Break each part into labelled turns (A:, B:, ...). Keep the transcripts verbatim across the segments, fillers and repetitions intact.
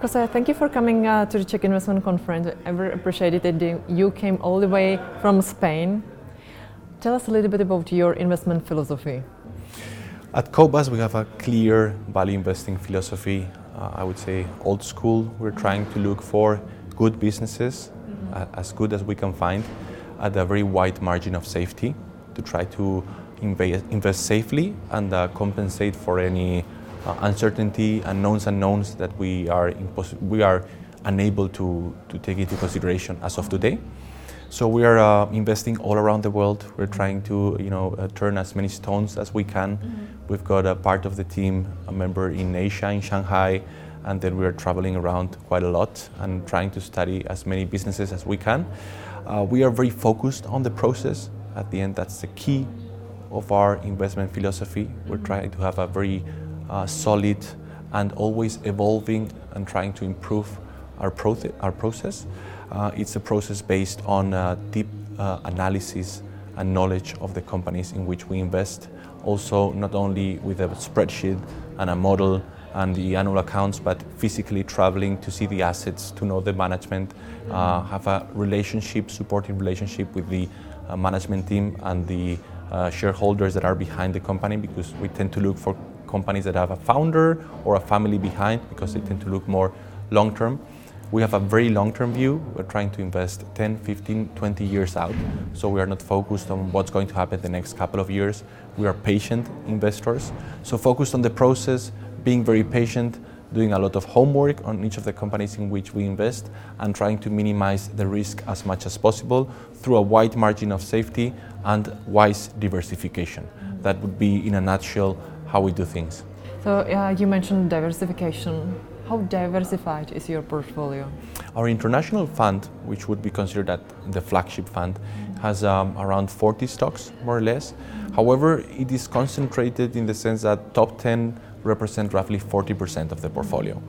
A: Jose, thank you for coming uh, to the Czech Investment Conference. I very appreciated that you came all the way from Spain. Tell us a little bit about your investment philosophy.
B: At Cobas, we have a clear value investing philosophy. Uh, I would say old school. We're trying to look for good businesses, mm-hmm. uh, as good as we can find, at a very wide margin of safety, to try to invest, invest safely and uh, compensate for any uh, uncertainty and knowns unknowns that we are impos- we are unable to, to take into consideration as of today. So we are uh, investing all around the world. We're trying to, you know, uh, turn as many stones as we can. Mm-hmm. We've got a part of the team, a member in Asia, in Shanghai, and then we are traveling around quite a lot and trying to study as many businesses as we can. Uh, we are very focused on the process. At the end, that's the key of our investment philosophy. We're trying to have a very uh, solid and always evolving and trying to improve our, pro- our process. Uh, it's a process based on uh, deep uh, analysis and knowledge of the companies in which we invest. Also, not only with a spreadsheet and a model and the annual accounts, but physically traveling to see the assets, to know the management, uh, have a relationship, supporting relationship with the uh, management team and the uh, shareholders that are behind the company, because we tend to look for companies that have a founder or a family behind, because they tend to look more long-term. We have a very long-term view. We're trying to invest ten, fifteen, twenty years out. So we are not focused on what's going to happen the next couple of years. We are patient investors. So focused on the process, being very patient, doing a lot of homework on each of the companies in which we invest, and trying to minimize the risk as much as possible through a wide margin of safety and wise diversification. That would be, in a nutshell, how we do things.
A: So uh, you mentioned diversification. How diversified is your portfolio?
B: Our international fund, which would be considered at the flagship fund, has um, around forty stocks, more or less. However, it is concentrated in the sense that top ten represent roughly forty percent of the portfolio.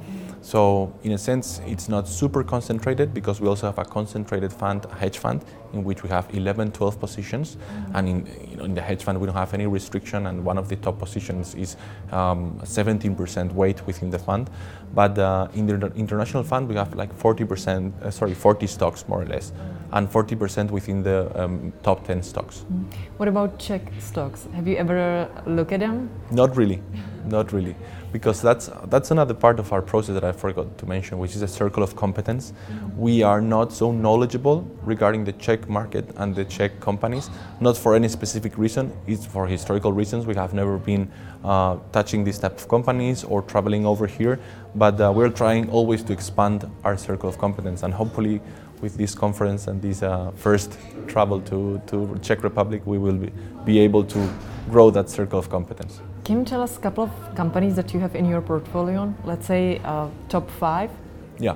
B: So in a sense, it's not super concentrated, because we also have a concentrated fund, a hedge fund, in which we have eleven, twelve positions. Mm-hmm. And in, you know, in the hedge fund, we don't have any restriction, and one of the top positions is um, seventeen percent weight within the fund. But uh, in the international fund, we have like forty percent, uh, sorry, forty stocks more or less, and forty percent within the um, top ten stocks.
A: Mm-hmm. What about Czech stocks? Have you ever looked at them?
B: Not really, not really. Because that's that's another part of our process that I forgot to mention, which is a circle of competence. Mm-hmm. We are not so knowledgeable regarding the Czech market and the Czech companies, not for any specific reason. It's for historical reasons. We have never been uh, touching these type of companies or traveling over here, but uh, we're trying always to expand our circle of competence, and hopefully with this conference and this uh, first travel to, to Czech Republic, we will be, be able to grow that circle of competence.
A: Can you tell us a couple of companies that you have in your portfolio? Let's say uh, top five?
B: Yeah.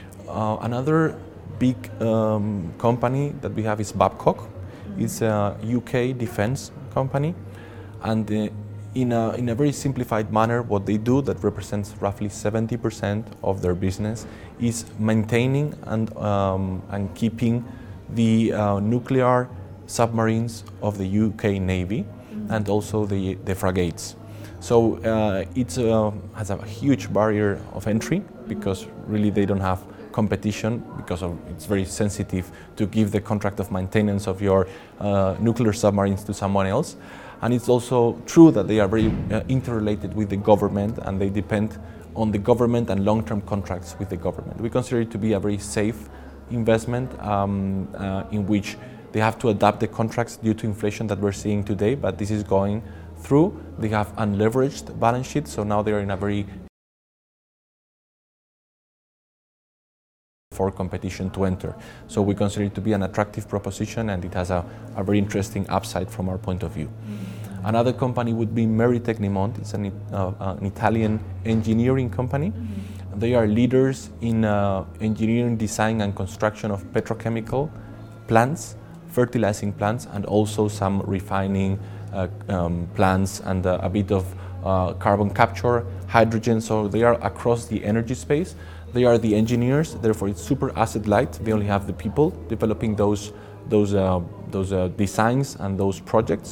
B: Uh, another big um, company that we have is Babcock. Mm-hmm. It's a U K defense company. And uh, in, a, in a very simplified manner, what they do, that represents roughly seventy percent of their business, is maintaining and, um, and keeping the uh, nuclear submarines of the U K Navy. Mm-hmm. And also the, the frigates. So uh, it uh, has a huge barrier of entry, because really they don't have competition, because of, it's very sensitive to give the contract of maintenance of your uh, nuclear submarines to someone else. And it's also true that they are very uh, interrelated with the government, and they depend on the government and long-term contracts with the government. We consider it to be a very safe investment um, uh, in which they have to adapt the contracts due to inflation that we're seeing today, but this is going through. They have unleveraged balance sheets, so now they are in a very for competition to enter. So we consider it to be an attractive proposition, and it has a, a very interesting upside from our point of view. Mm-hmm. Another company would be Meri Tecnimont. It's an, uh, an Italian engineering company. Mm-hmm. They are leaders in uh, engineering, design and construction of petrochemical plants, fertilizing plants, and also some refining uh, um, plants, and uh, a bit of uh, carbon capture, hydrogen. So they are across the energy space. They are the engineers, therefore it's super asset light. They only have the people developing those those uh, those uh, designs and those projects.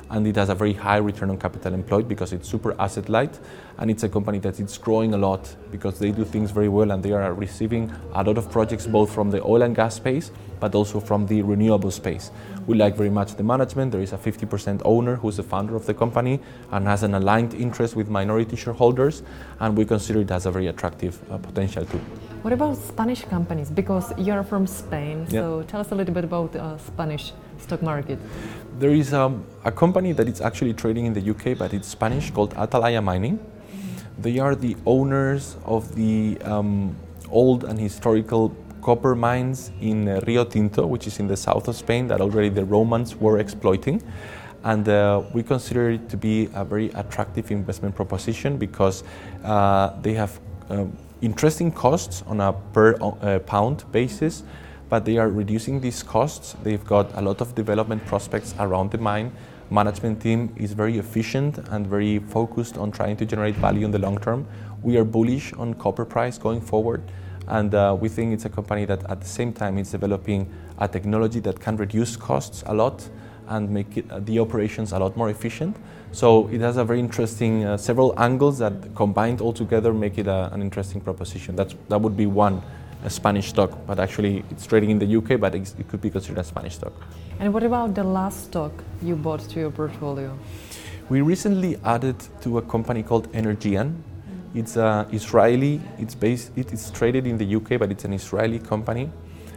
B: and it has a very high return on capital employed because it's super asset light, and it's a company that is growing a lot because they do things very well, and they are receiving a lot of projects both from the oil and gas space but also from the renewable space. We like very much the management. There is a fifty percent owner who's the founder of the company and has an aligned interest with minority shareholders, and we consider it as a very attractive uh, potential too.
A: What about Spanish companies? Because you're from Spain,
B: Yeah.
A: so tell us a little bit about the uh, Spanish stock market.
B: There is um, a company that is actually trading in the U K, but it's Spanish, called Atalaya Mining. They are the owners of the um, old and historical copper mines in uh, Rio Tinto, which is in the south of Spain, that already the Romans were exploiting. And uh, we consider it to be a very attractive investment proposition because uh, they have um, interesting costs on a per uh, pound basis, but they are reducing these costs. They've got a lot of development prospects around the mine. Management team is very efficient and very focused on trying to generate value in the long term. We are bullish on copper price going forward, and uh, we think it's a company that at the same time is developing a technology that can reduce costs a lot and make it, uh, the operations a lot more efficient. So it has a very interesting, uh, several angles that combined all together make it a, an interesting proposition. That's, that would be one, a Spanish stock, but actually it's trading in the U K, but it's, it could be considered a Spanish stock.
A: And what about the last stock you bought to your portfolio?
B: We recently added to a company called Energean. It's uh, Israeli, it's based, it is traded in the U K, but it's an Israeli company.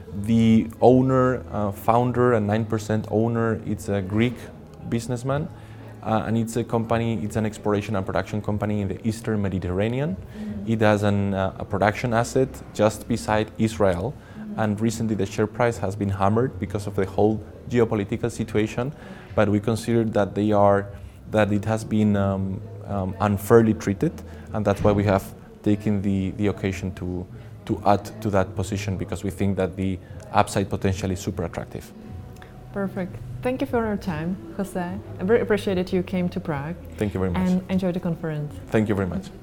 B: The owner, uh, founder and nine percent owner, it's a Greek businessman, uh, and it's a company, it's an exploration and production company in the Eastern Mediterranean. It has an, uh, a production asset just beside Israel, and recently the share price has been hammered because of the whole geopolitical situation, but we consider that they are, that it has been um, um, unfairly treated, and that's why we have taken the, the occasion to to add to that position, because we think that the upside potential is super attractive.
A: Perfect. Thank you for your time, Jose. I very appreciated you came to Prague.
B: Thank you very much.
A: And enjoy the conference.
B: Thank you very much.